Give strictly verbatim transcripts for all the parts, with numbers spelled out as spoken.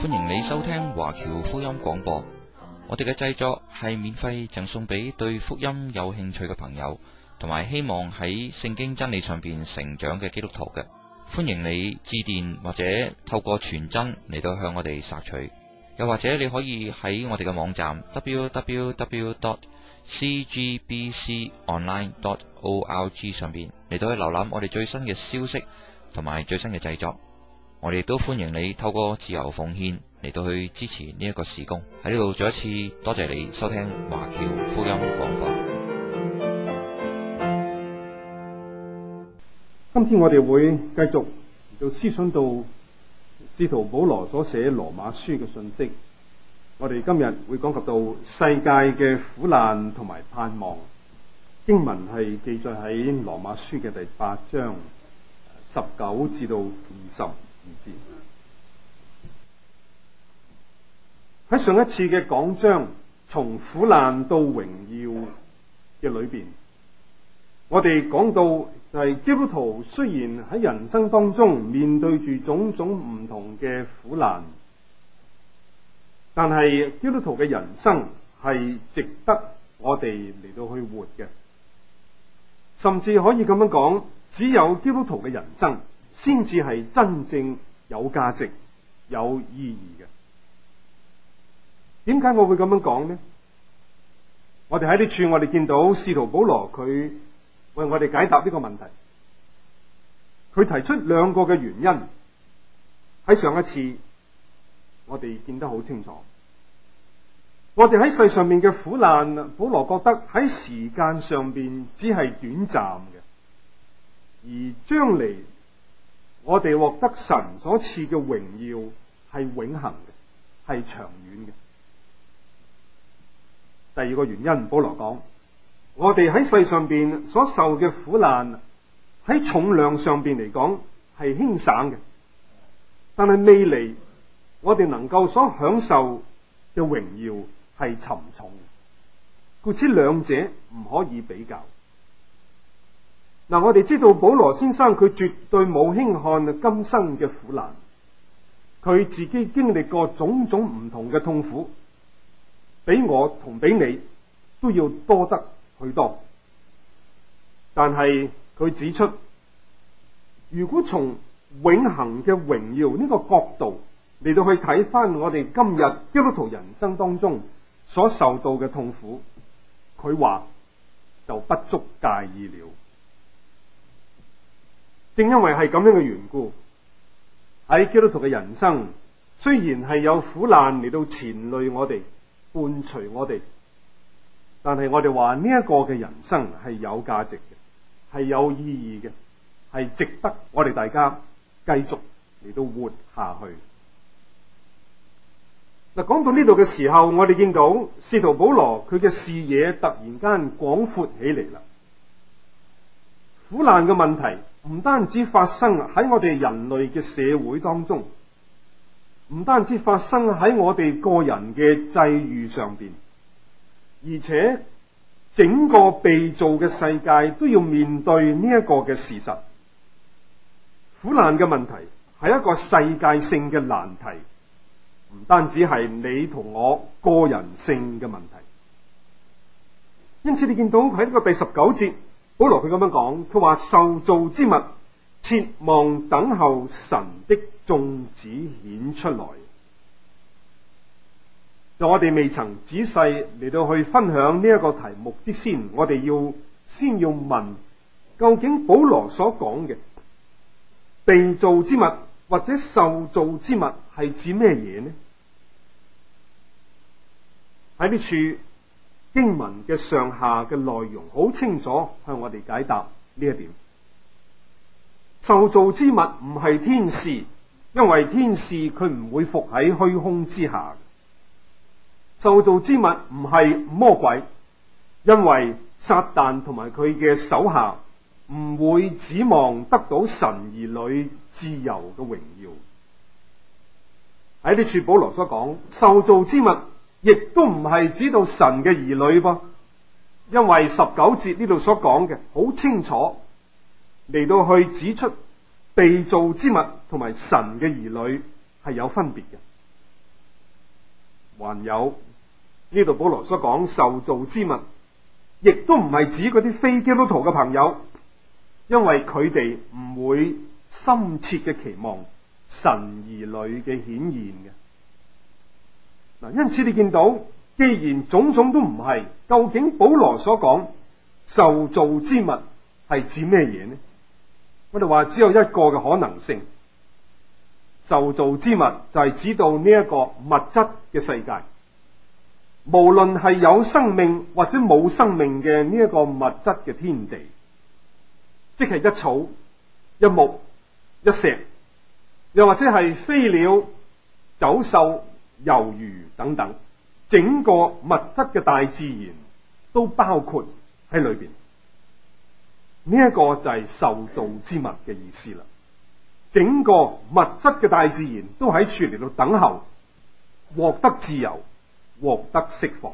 歡迎你收聽華僑福音廣播。我哋嘅製作係免費贈送俾對福音有興趣嘅朋友，同埋希望喺聖經真理上邊成長嘅基督徒嘅。歡迎你致電或者透過傳真嚟到向我哋索取，又或者你可以喺我哋嘅網站 double-u double-u double-u dot c g b c online dot org 上邊嚟到去瀏覽我哋最新嘅消息同埋最新嘅製作。我哋都歡迎你透過自由奉獻嚟到去支持呢一個事工。喺呢度再一次多謝你收聽華僑福音廣播。 今天我哋會繼續到思想到使徒保羅所寫羅馬書嘅信息。我哋今日會講及到世界嘅苦難同埋盼望。經文係記載喺羅馬書嘅第八章十九至到二十。喺上一次嘅講章，從苦難到榮耀嘅裏邊，我哋講到就係基督徒雖然喺人生當中面對住種種唔同嘅苦難，但係基督徒嘅人生係值得我哋嚟到去活嘅，甚至可以咁樣講，只有基督徒嘅人生先至係真正有價值、有意義嘅。點解我會咁樣講呢？我哋喺呢處，我哋見到使徒保羅佢為我哋解答呢個問題。佢提出兩個嘅原因。喺上一次，我哋見得好清楚。我哋喺世上面嘅苦難，保羅覺得喺時間上邊只係短暫嘅，而將嚟我哋獲得神所賜嘅榮耀係永恆嘅，係長遠嘅。第二個原因，保羅講，我哋喺世上邊所受嘅苦難喺重量上邊嚟講係輕省嘅，但係未來我哋能夠所享受嘅榮耀係沉重嘅，故此兩者唔可以比較。嗱，我哋知道保羅先生佢絕對冇輕看今生嘅苦難，佢自己經歷過種種唔同嘅痛苦，比我同比你都要多得許多。但係佢指出，如果從永恆嘅榮耀呢個角度嚟到去睇翻我哋今日基督徒人生當中所受到嘅痛苦，佢話就不足介意了。正因為係咁樣嘅緣故，喺基督徒嘅人生雖然係有苦難嚟到纏累我哋，伴隨我哋，但係我哋話呢一個嘅人生係有價值嘅，係有意義嘅，係值得我哋大家繼續嚟到活下去。嗱，講到呢度嘅時候，我哋見到使徒保羅佢嘅視野突然間廣闊起嚟啦。苦難嘅問題唔單止發生喺我哋人類嘅社會當中，唔單止發生喺我哋個人嘅際遇上邊，而且整個被造嘅世界都要面對呢一個嘅事實。苦難嘅問題係一個世界性嘅難題，唔單止係你同我個人性嘅問題。因此你見到喺呢個第十九節，保羅佢咁樣講，佢話受造之物切望等候神的眾子顯出來。就我哋未曾仔細嚟到去分享呢一個題目之先，我哋要先要問，究竟保羅所講嘅被造之物或者受造之物係指咩嘢呢？喺呢處經文嘅上下嘅內容好清楚向我哋解答呢一點。受造之物唔係天使，因為天使佢唔會伏喺虛空之下。受造之物唔係魔鬼，因為撒旦同埋佢嘅手下唔會指望得到神兒女自由嘅榮耀。喺呢處保羅所講受造之物，亦都唔係指到神嘅兒女噃，因為十九節呢度所講嘅好清楚，嚟到去指出被造之物同埋神嘅兒女係有分別嘅。 還有呢度保羅所講受造之物，亦都唔係指嗰啲非基督徒嘅朋友，因為佢哋唔會深切嘅期望神兒女嘅顯現嘅。嗱，因此你見到，既然種種都唔係，究竟保羅所講受造之物係指咩嘢呢？我哋話只有一個嘅可能性，受造之物就係指到呢一個物質嘅世界，無論係有生命或者冇生命嘅呢一個物質嘅天地，即係一草一木一石，又或者係飛鳥走獸遊魚等等，整個物質嘅大自然都包括喺裏邊。呢一個就係受造之物嘅意思啦。整個物質嘅大自然都喺處嚟到等候，獲得自由，獲得釋放。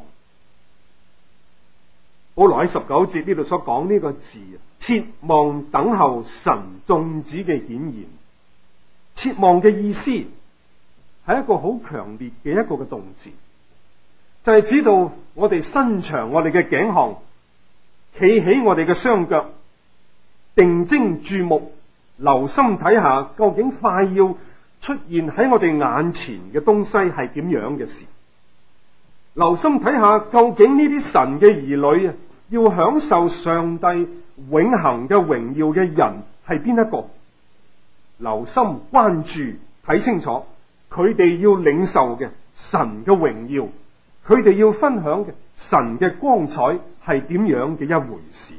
保羅喺十九節呢度所講呢個字，切望等候神眾子嘅顯現。切望嘅意思係一個好強烈嘅一個嘅動詞，就係指到我哋伸長我哋嘅頸項，企起我哋嘅雙腳，定睛注目，留心睇下究竟快要出現喺我哋眼前嘅東西係點樣嘅事。留心睇下究竟呢啲神嘅兒女啊，要享受上帝永恆嘅榮耀嘅人係邊一個？留心關注睇清楚，佢哋要領受嘅神嘅榮耀，佢哋要分享嘅神嘅光彩係點樣嘅一回事。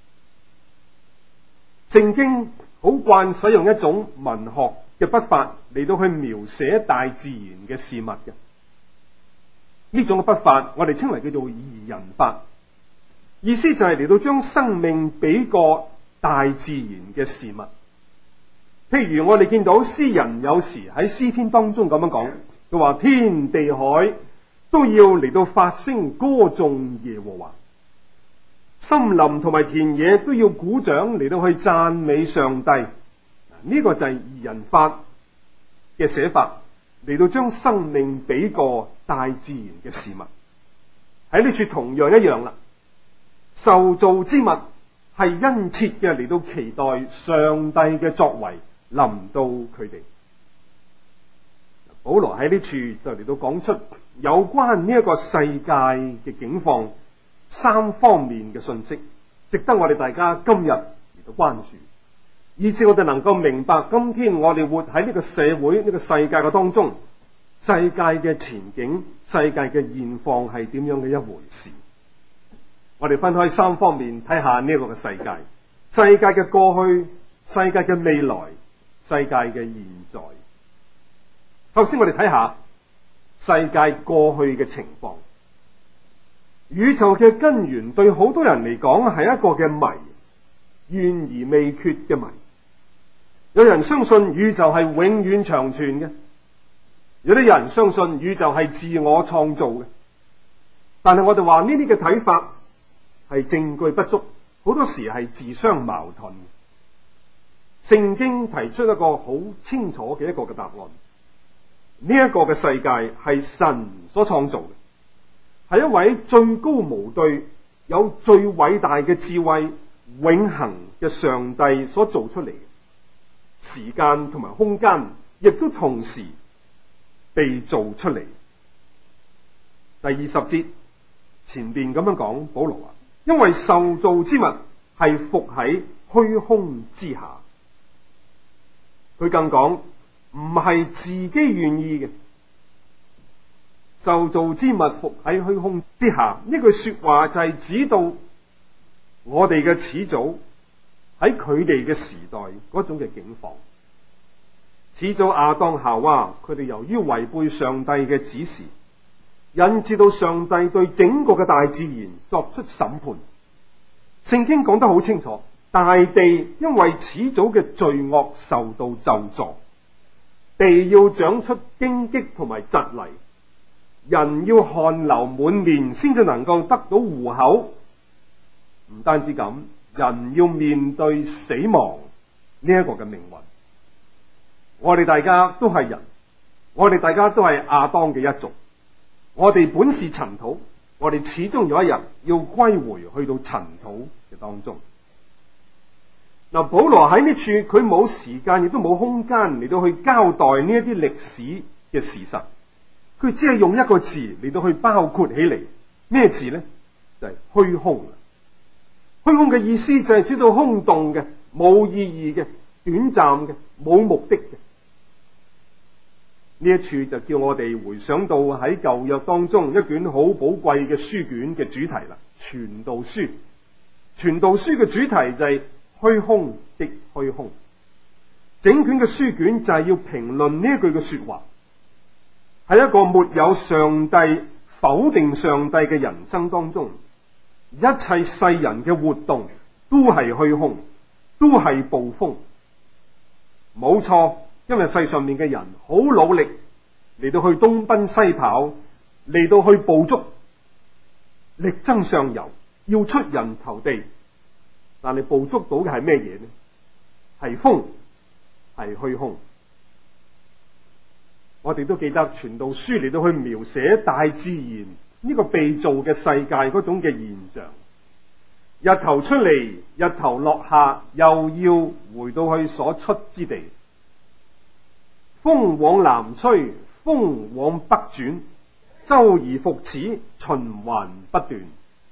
聖經好慣使用一種文學嘅筆法嚟到去描寫大自然嘅事物嘅，呢種嘅筆法我哋稱為叫做擬人法，意思就係嚟到將生命俾個大自然嘅事物。譬如我哋見到詩人有時喺詩篇當中咁樣講，佢話天地海都要嚟到發聲歌頌耶和華，森林同埋田野都要鼓掌嚟到去讚美上帝。呢個就係擬人法嘅寫法，嚟到將生命俾個大自然嘅事物。喺呢處同樣一樣啦，受造之物係殷切嘅嚟到期待上帝嘅作為臨到佢哋。保羅喺呢處就嚟到講出有關呢一個世界嘅境況三方面嘅信息，值得我哋大家今日嚟到關注，以致我哋能夠明白今天我哋活喺呢個社會呢個世界嘅當中，世界嘅前景、世界嘅現況係點樣嘅一回事。我哋分開三方面睇下呢一個嘅世界，世界嘅過去、世界嘅未來、世界嘅現在。首先我哋睇下世界過去嘅情況。宇宙嘅根源對好多人嚟講係一個嘅謎，懸而未決嘅謎。有人相信宇宙係永遠長存嘅，有啲人相信宇宙係自我創造嘅。但係我哋話呢啲嘅睇法係證據不足，好多時係自相矛盾。聖經提出一個好清楚嘅一個嘅答案，呢一個嘅世界係神所創造嘅，係一位最高無對、有最偉大嘅智慧、永恆嘅上帝所做出嚟嘅。時間同埋空間亦都同時被做出嚟。第二十節前邊咁樣講，保羅話：因為受造之物係伏喺虛空之下。佢更講唔係自己願意嘅。受造之物伏喺虛空之下，呢句說話就係指到我哋嘅始祖喺佢哋嘅時代嗰種嘅境況。始祖亞當夏娃，佢哋由於違背上帝嘅指示，引致到上帝對整個嘅大自然作出審判。聖經講得好清楚，大地因為始祖嘅罪惡受到咒詛，地要長出荊棘同埋蒺藜，人要汗流滿面先至能夠得到糊口。唔單止咁，人要面對死亡呢一個嘅命運。我哋大家都係人，我哋大家都係亞當嘅一族， 我哋本是塵土，我哋始終有一日要歸回去到塵土嘅當中。嗱，保羅喺呢處佢冇時間亦都冇空間嚟到去交代呢一啲歷史嘅事實，佢只係用一個字嚟到去包括起嚟，咩字呢？就係虛空。虛空嘅意思就係指到空洞嘅、冇意義嘅、短暫嘅、冇目的嘅。呢一處就叫我哋回想到喺舊約當中一卷好寶貴嘅書卷嘅主題啦，《傳道書》。《傳道書》嘅主題就係虛空的虛空。整卷嘅書卷就係要評論呢一句嘅說話，喺一個沒有上帝、否定上帝嘅人生當中，一切世人嘅活動都係虛空，都係捕風。冇錯，因為世上面嘅人好努力嚟到去東奔西跑，嚟到去捕捉，力爭上游，要出人頭地。但係捕捉到嘅係咩嘢呢？係風，係虛空。我哋都記得傳道書嚟到去描寫大自然呢個被造嘅世界嗰種嘅現象。日頭出嚟，日頭落下，又要回到去所出之地。風往南吹，風往北轉，周而復始，循環不斷。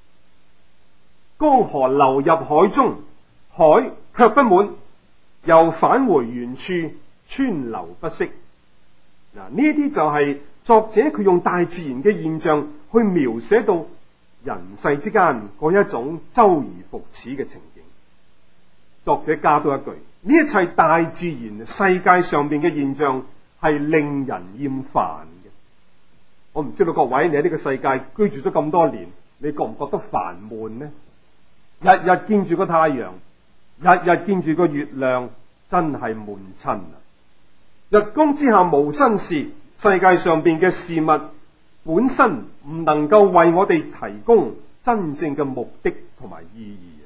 江河流入海中，海卻不滿，又返回原處，川流不息。嗱，呢啲就係作者佢用大自然嘅現象去描寫到人世之間嗰一種周而復始嘅情景。作者加多一句：呢一切大自然世界上邊嘅現象係令人厭煩嘅。我唔知道各位，你喺呢個世界居住咗咁多年，你覺唔覺得煩悶呢？日日見住個太陽，日日見住個月亮，真係悶親啊！日光之下無新事，世界上邊嘅事物本身唔能夠為我哋提供真正嘅目的同埋意義。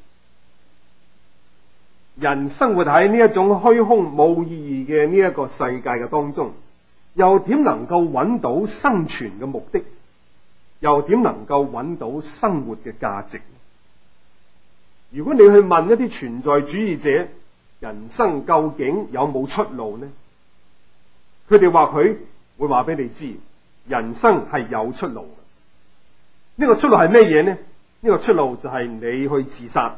人生活喺呢一種虛空冇意義嘅呢一個世界嘅當中，又點能夠揾到生存嘅目的？又點能夠揾到生活嘅價值？如果你去問一啲存在主義者，人生究竟有冇出路呢？佢哋話佢會話俾你知，人生係有出路嘅。呢個出路係咩嘢呢？呢個出路就係你去自殺。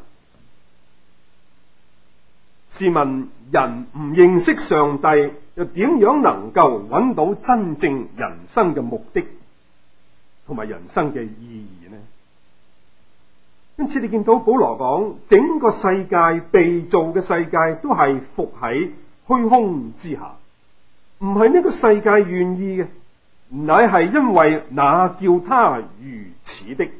試問人唔認識上帝，又點樣能夠揾到真正人生嘅目的同埋人生嘅意義呢？因此你見到保羅講，整個世界被造嘅世界都係伏喺虛空之下，唔係呢個世界願意嘅，乃係因為那叫他如此的。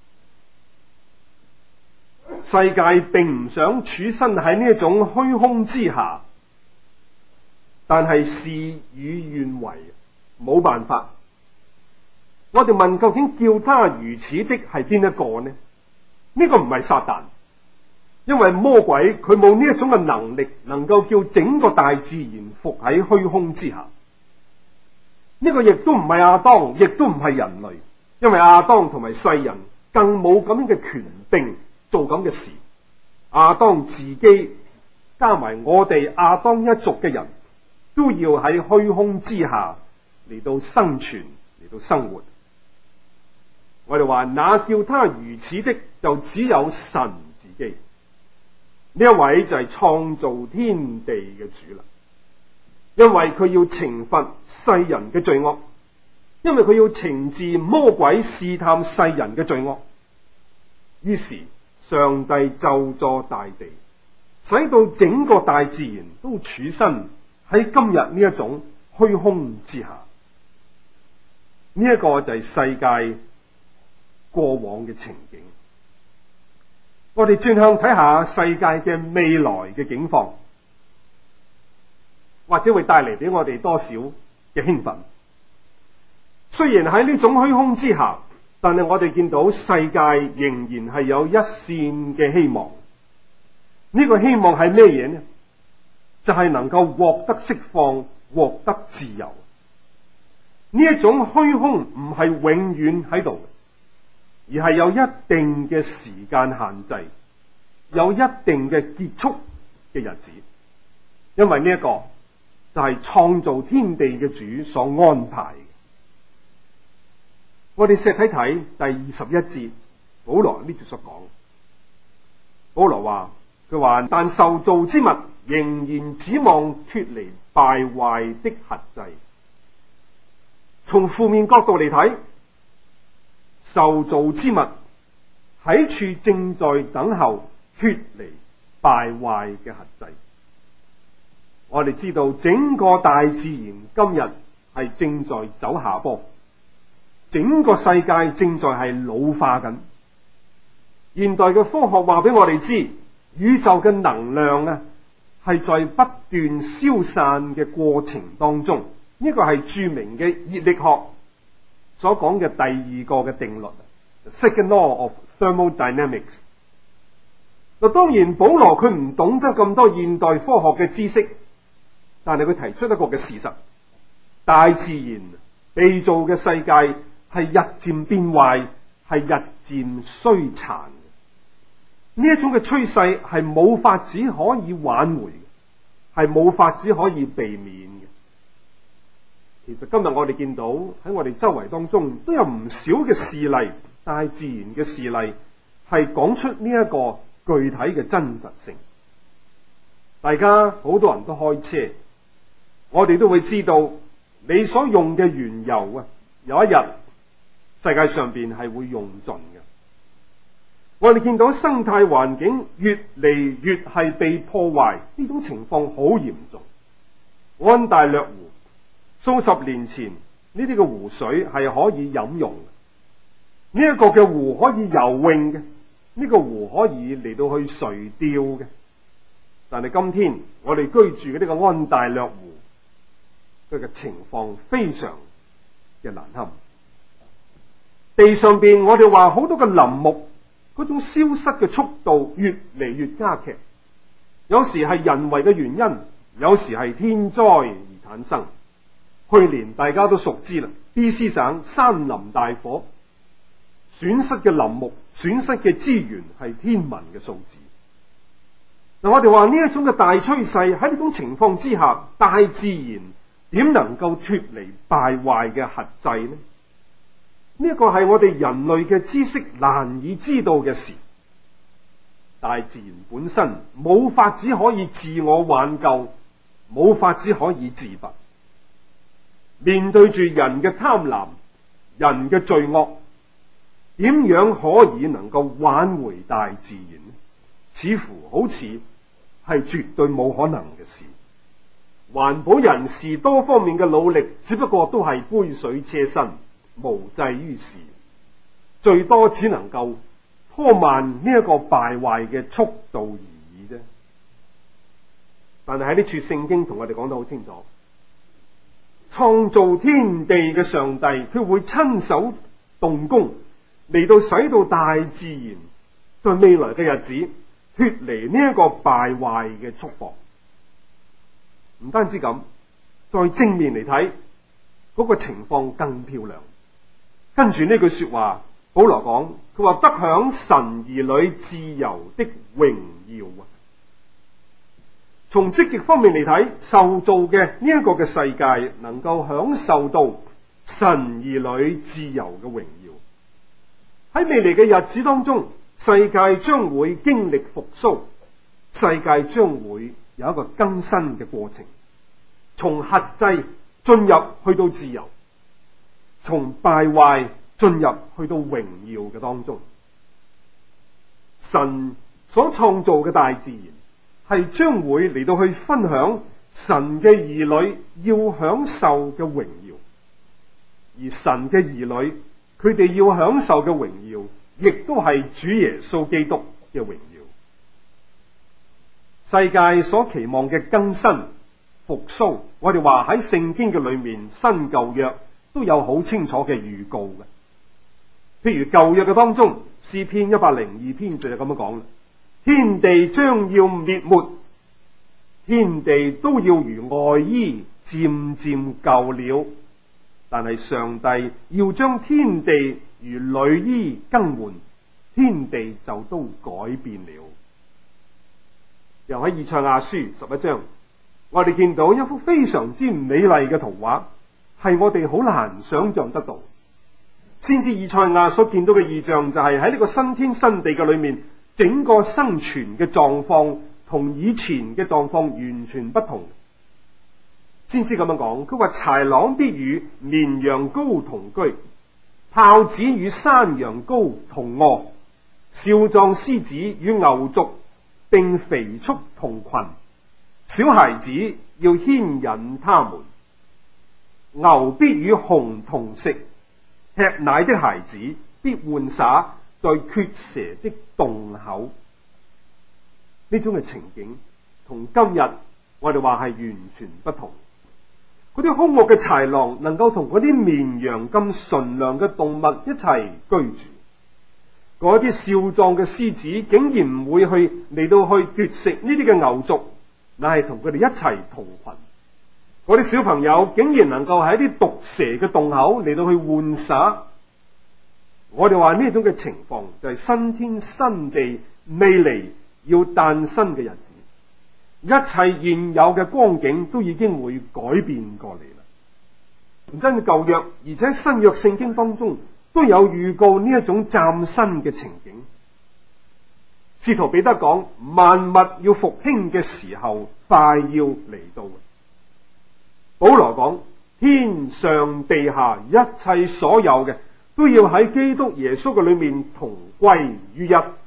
世界並唔想處身喺呢一種虛空之下，但係事與願違，冇辦法。我哋問，究竟叫他如此的係邊一個呢？呢個唔係撒旦，因為魔鬼佢冇呢一種嘅能力，能夠叫整個大自然伏喺虛空之下。呢個亦都唔係亞當，亦都唔係人類，因為亞當同埋世人更冇咁樣嘅權柄做咁嘅事。亞當自己加埋我哋亞當一族嘅人都要喺虛空之下嚟到生存，嚟到生活。我哋話，那叫他如此的就只有神自己。呢一位就係創造天地嘅主啦，因為佢要懲罰世人嘅罪惡，因為佢要懲治魔鬼試探世人嘅罪惡。於是上帝咒詛大地，使到整個大自然都處身喺今日呢一種虛空之下。呢一個就係世界過往嘅情景。我哋轉向睇下世界嘅未來嘅境況，或者會帶嚟俾我哋多少嘅興奮。雖然喺呢種虛空之下，但係我哋見到世界仍然係有一線嘅希望。呢個希望係咩嘢呢？就係能夠獲得釋放，獲得自由。 呢一種虛空唔係永遠喺度，而係有一定嘅時間限制，有一定嘅結束嘅日子。因為呢一個就係創造天地嘅主所安排嘅。我哋試睇睇第二十一節，保羅呢節所講。保羅話，佢話但受造之物仍然指望脫離敗壞的轄制。從負面角度嚟睇，受造之物喺處正在等候脫離敗壞嘅轄制。我哋知道整個大自然今日係正在走下坡，整個世界正在係老化緊。現代嘅科學話俾我哋知，宇宙嘅能量啊係在不斷消散嘅過程當中。呢個係著名嘅熱力學所講嘅第二個嘅定律 ，Second Law of Thermodynamics。嗱，當然保羅佢唔懂得咁多現代科學嘅知識，但係佢提出一個嘅事實：大自然被造嘅世界係日漸變壞，係日漸衰殘。呢一種嘅趨勢係冇法子可以挽回，係冇法子可以避免嘅。其實今日我哋見到喺我哋周圍當中都有唔少嘅事例，大自然嘅事例係講出呢一個具體嘅真實性。大家好多人都開車，我哋都會知道你所用嘅原油啊，有一日世界上邊係會用盡嘅。我哋見到生態環境越嚟越係被破壞，呢種情況好嚴重。安大略湖數十年前呢啲嘅湖水係可以飲用嘅，呢一個嘅湖可以游泳嘅，呢個湖可以嚟到去垂釣嘅。但係今天我哋居住嘅呢個安大略湖，佢嘅情況非常嘅難堪。地上邊我哋話好多嘅林木，嗰種消失嘅速度越嚟越加劇，有時係人為嘅原因，有時係天災而產生。去年大家都熟知啦，B C 省山林大火，損失嘅林木、損失嘅資源係天文嘅數字。嗱，我哋話呢一種嘅大趨勢，喺呢種情況之下，大自然點能夠脫離敗壞嘅轄制呢？呢一個係我哋人類嘅知識難以知道嘅事。大自然本身冇法子可以自我挽救，冇法子可以自拔。面對住人嘅貪婪、人嘅罪惡，點樣可以能夠挽回大自然呢？似乎好似係絕對冇可能嘅事。環保人士多方面嘅努力，只不過都係杯水車薪，無濟於事，最多只能夠拖慢呢一個敗壞嘅速度而已啫。但係喺呢處聖經同我哋講得好清楚，創造天地嘅上帝，佢會親手動工嚟到使到大自然在未來嘅日子脫離呢一個敗壞嘅束縛。唔單止咁，在正面嚟睇，嗰個情況更漂亮。跟住呢句說話，保羅講，佢話得享神兒女自由的榮耀啊！從積極方面嚟睇，受造嘅呢一個嘅世界能夠享受到神兒女自由嘅榮耀。喺未來嘅日子當中，世界將會經歷復甦，世界將會有一個更新嘅過程，從轄制進入去到自由，從敗壞進入去到榮耀嘅當中。神所創造嘅大自然係將會嚟到去分享神嘅兒女要享受嘅榮耀，而神嘅兒女佢哋要享受嘅榮耀，亦都係主耶穌基督嘅榮耀。世界所期望嘅更新復甦，我哋話喺聖經嘅裏面，新舊約都有好清楚嘅預告嘅。譬如舊約嘅當中，詩篇一百零二篇就係咁樣講啦：天地將要滅沒，天地都要如外衣漸漸舊了。 但係上帝要將天地如裡衣更換，天地就都改變了。又喺以賽亞書十一章，我哋見到一幅非常之美麗嘅圖畫，係我哋好難想象得到。先知以賽亞所見到嘅異象就係喺呢個新天新地嘅裏面，整個生存嘅狀況同以前嘅狀況完全不同。先知咁樣講，佢話豺狼必與綿羊羔同居，豹子與山羊羔同臥，少壯獅子與牛犢並肥畜同群，小孩子要牽引他們，牛必與熊同食，吃奶的孩子必玩耍在缺蛇的洞口。呢種嘅情景同今日我哋話係完全不同。嗰啲兇惡嘅豺狼能夠同嗰啲綿羊咁純良嘅動物一齊居住，嗰啲少壯嘅獅子竟然唔會去嚟到去奪食呢啲嘅牛犢，乃係同佢哋一齊同群。嗰啲小朋友竟然能夠喺啲毒蛇嘅洞口嚟到去玩耍。我哋話呢種嘅情況就係新天新地未嚟要誕生嘅日子。一切現有嘅光景都已經會改變過嚟啦。唔單止舊約，而且新約聖經當中都有預告呢一種嶄新嘅情景。使徒彼得講，萬物要復興嘅時候快要嚟到。保羅講，天上地下一切所有嘅都要喺基督耶穌嘅裏面同歸於一。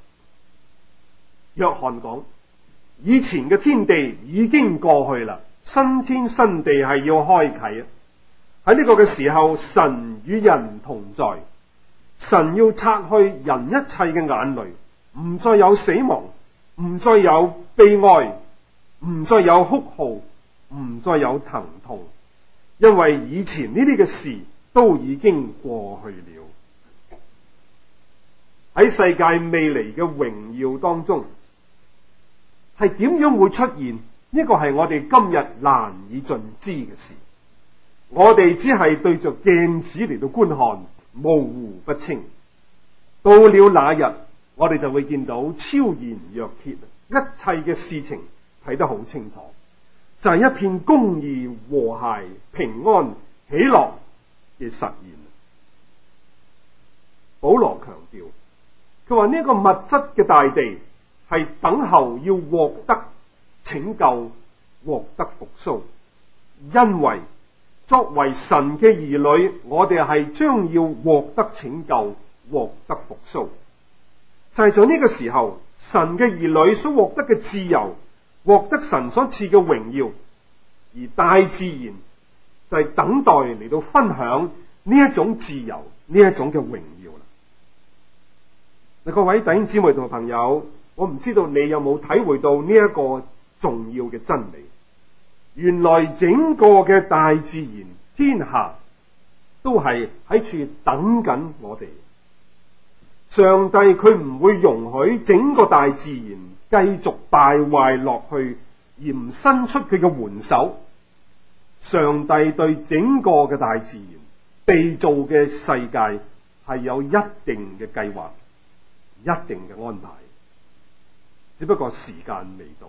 約翰講，以前嘅天地已經過去啦，新天新地係要開啟啊！喺呢個嘅時候，神與人同在，神要擦去人一切嘅眼淚，唔再有死亡，唔再有悲哀，唔再有哭號，唔再有疼痛，因為以前呢啲嘅事都已經過去了。喺世界未來嘅榮耀當中，係點樣會出現？呢個係我哋今日難以盡知嘅事。我哋只係對着鏡子嚟到觀看，模糊不清。到了那日，我哋就會見到超然若揭，一切嘅事情睇得好清楚，就係、是、一片公義、和諧、平安、喜樂嘅實現。保羅強調，佢話呢個物質嘅大地係等候要獲得拯救、獲得復甦，因為作為神嘅兒女，我哋係將要獲得拯救、獲得復甦。就係在呢個時候，神嘅兒女所獲得嘅自由，獲得神所賜嘅榮耀，而大自然就係等待嚟到分享呢一種自由、呢一種嘅榮耀啦。嗱，各位弟兄姊妹同朋友，我唔知道你有冇體會到呢一個重要嘅真理。原來整個嘅大自然天下都係喺處等緊我哋。上帝佢唔會容許整個大自然繼續敗壞落去，而唔伸出佢嘅援手。上帝對整個嘅大自然被造嘅世界係有一定嘅計劃，一定嘅安排，只不過時間未到。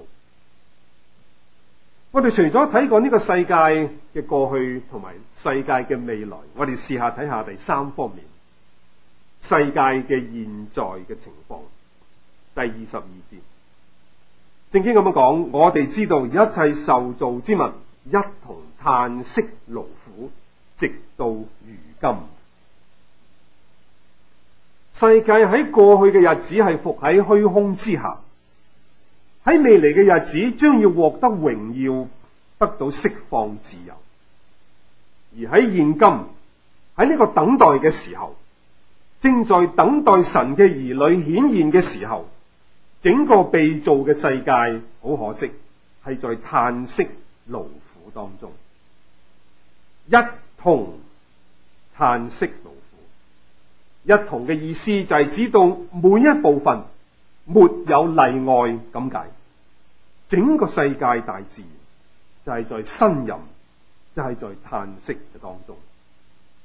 我哋除咗睇過呢個世界嘅過去同埋世界嘅未來，我哋試下睇下第三方面，世界嘅現在嘅情況。第二十二節，聖經咁樣講，我哋知道一切受造之物一同嘆息勞苦，直到如今。世界喺過去嘅日子係伏喺虛空之下，喺未來嘅日子將要獲得榮耀，得到釋放自由。而喺現今喺呢個等待嘅時候，正在等待神嘅兒女顯現嘅時候，整個被造嘅世界好可惜係在嘆息勞苦當中，一同嘆息勞苦。一同嘅意思就係指到每一部分沒有例外咁解，整個世界大自然就係在呻吟，就係在嘆息嘅當中。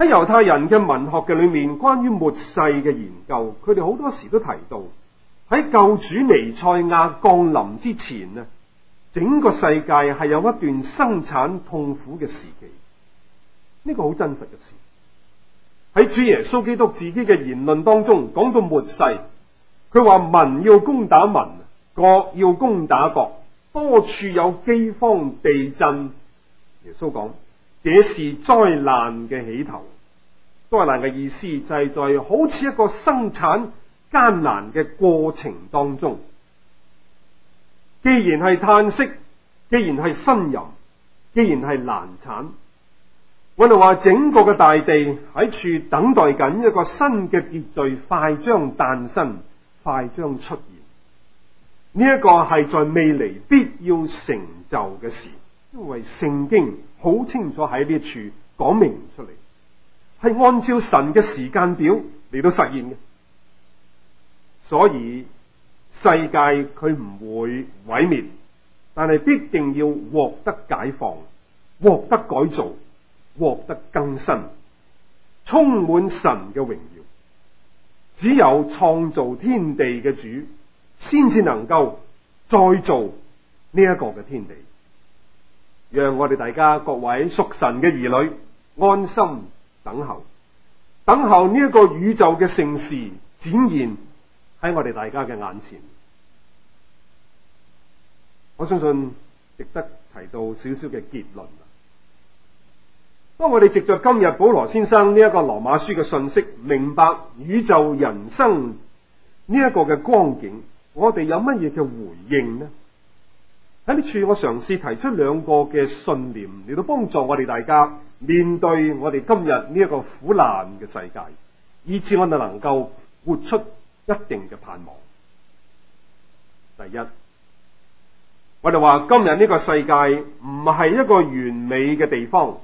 喺猶太人嘅文學嘅裏面，關於末世嘅研究，佢哋好多時都提到喺救主彌賽亞降臨之前呢，整個世界係有一段生產痛苦嘅時期。呢個好真實嘅事。喺主耶穌基督自己嘅言論當中講到末世，佢話民要攻打民，國要攻打國，多處有饑荒、地震。耶穌講，這是災難嘅起頭。災難嘅意思就係在好似一個生產艱難嘅過程當中，既然係嘆息，既然係呻吟，既然係難產，我哋話整個嘅大地喺處等待緊一個新嘅秩序快將誕生，快將出現。呢一個係在未來必要成就嘅事，因為聖經好清楚喺呢處講明出嚟，係按照神嘅時間表嚟到實現嘅。所以世界佢唔會毀滅，但係必定要獲得解放，獲得改造，獲得更新，充滿神嘅榮耀。只有創造天地嘅主先至能夠再造呢一個嘅天地。讓我哋大家各位屬神嘅兒女安心等候，等候呢一個宇宙嘅盛事展現喺我哋大家嘅眼前。我相信值得提到少少嘅結論。當我哋藉着今日保羅先生呢一個羅馬書嘅信息，明白宇宙人生呢一個嘅光景，我哋有乜嘢嘅回應呢？喺呢處我嘗試提出兩個嘅信念嚟到幫助我哋大家面對我哋今日呢一個苦難嘅世界，以致我哋能夠活出一定嘅盼望。第一，我哋話今日呢個世界唔係一個完美嘅地方，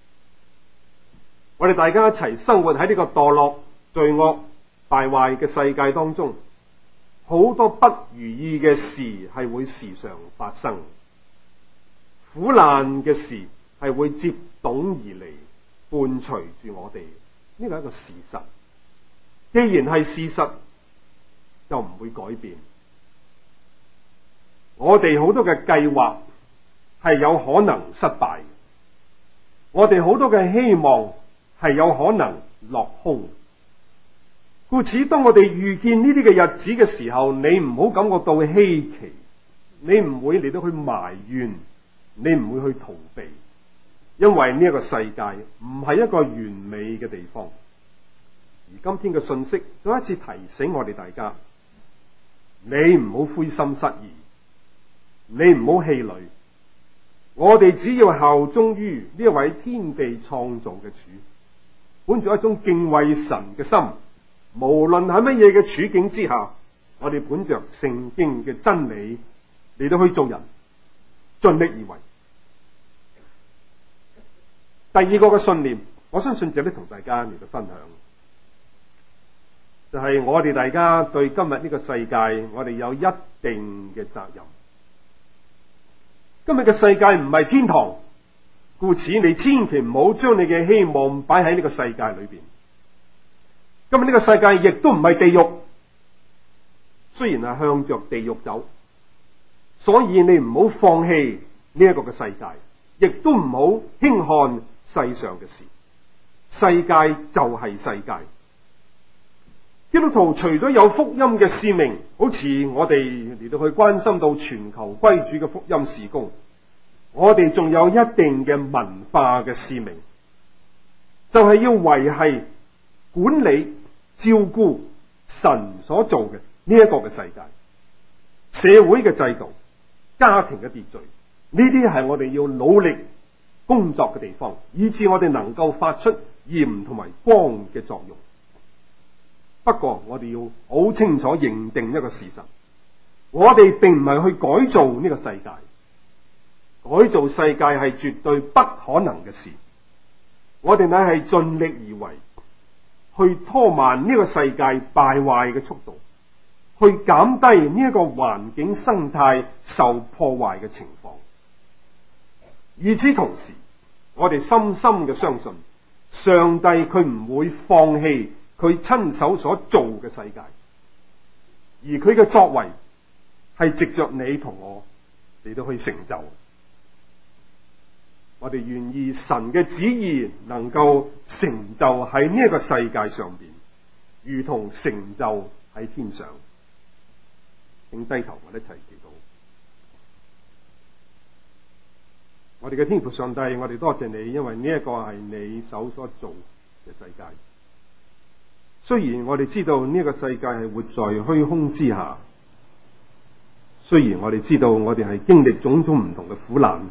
我哋大家一齊生活喺呢個墮落、罪惡、敗壞嘅世界當中，好多不如意嘅事係會時常發生，苦難嘅事係會接踵而嚟，伴隨住我哋。呢個係一個事實，既然係事實，就唔會改變。我哋好多嘅計劃係有可能失敗，我哋好多嘅希望係有可能落空。故此，當我哋遇見呢啲嘅日子嘅時候，你唔好感覺到稀奇，你唔會嚟到去埋怨，你唔會去逃避，因為呢一個世界唔係一個完美嘅地方。而今天嘅信息再一次提醒我哋大家，你唔好灰心失意，你唔好氣餒，我哋只要效忠於呢一位天地創造嘅主，本着一種敬畏神嘅心，無論喺乜嘢嘅處境之下，我哋本着聖經嘅真理嚟到去做人，盡力而為。第二個嘅信念，我相信值得同大家嚟到分享，就係我哋大家對今日呢個世界，我哋有一定嘅責任。今日嘅世界唔係天堂，故此你千祈唔好將你嘅希望擺喺呢個世界裏邊。今日呢個世界亦都唔係地獄，雖然係向着地獄走，所以你唔好放棄呢一個嘅世界，亦都唔好輕看世上嘅事。世界就係世界。基督徒除咗有福音嘅使命，好似我哋嚟到去關心到全球歸主嘅福音事工，我哋仲有一定嘅文化嘅使命，就係要維繫、管理、照顧神所做嘅呢一個嘅世界，社會嘅制度、家庭嘅秩序，呢啲係我哋要努力工作嘅地方，以致我哋能夠發出鹽同埋光嘅作用。不過我哋要好清楚認定一個事實，我哋並唔係去改造呢個世界，改造世界係絕對不可能嘅事。我哋乃係盡力而為，去拖慢呢個世界敗壞嘅速度，去減低呢一個環境生態受破壞嘅情況。與此同時，我哋深深嘅相信， 上帝佢唔會放棄佢親手所做嘅世界，而佢嘅作為係藉着你同我嚟到去成就。我哋願意神嘅旨意能夠成就喺呢一個世界上邊，如同成就喺天上。請低頭，我哋一齊祈禱。我哋嘅天父上帝，我哋多謝你，因為呢一個係你手所做嘅世界。雖然我哋知道呢一個世界係活在虛空之下，雖然我哋知道我哋係經歷種種唔同嘅苦難，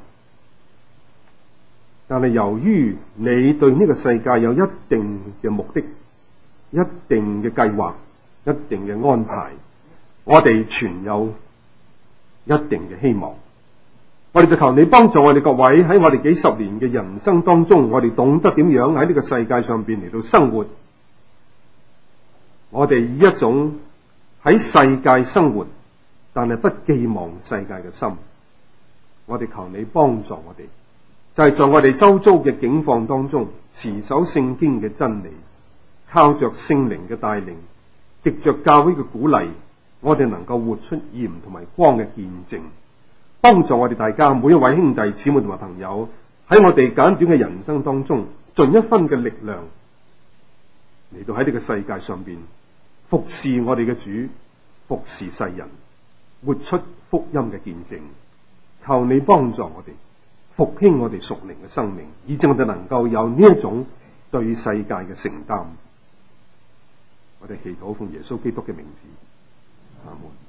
但係由於你對呢個世界有一定嘅目的、一定嘅計劃、一定嘅安排，我哋存有一定嘅希望。我哋就求你幫助我哋各位喺我哋幾十年嘅人生當中，我哋懂得點樣喺呢個世界上邊嚟到生活。我哋以一種喺世界生活，但係不寄望世界嘅心。我哋求你幫助我哋，就係在我哋周遭嘅境況當中，持守聖經嘅真理，靠着聖靈嘅帶領，藉着教會嘅鼓勵，我哋能夠活出鹽同埋光嘅見證，幫助我哋大家每一位兄弟姊妹同埋朋友喺我哋簡短嘅人生當中，盡一分嘅力量嚟到喺呢個世界上邊服侍我哋嘅主，服侍世人，活出福音嘅見證。求你幫助我哋復興我哋屬靈嘅生命，以致我哋能夠有呢一種對世界嘅承擔。我哋祈禱奉耶穌基督嘅名字，阿門。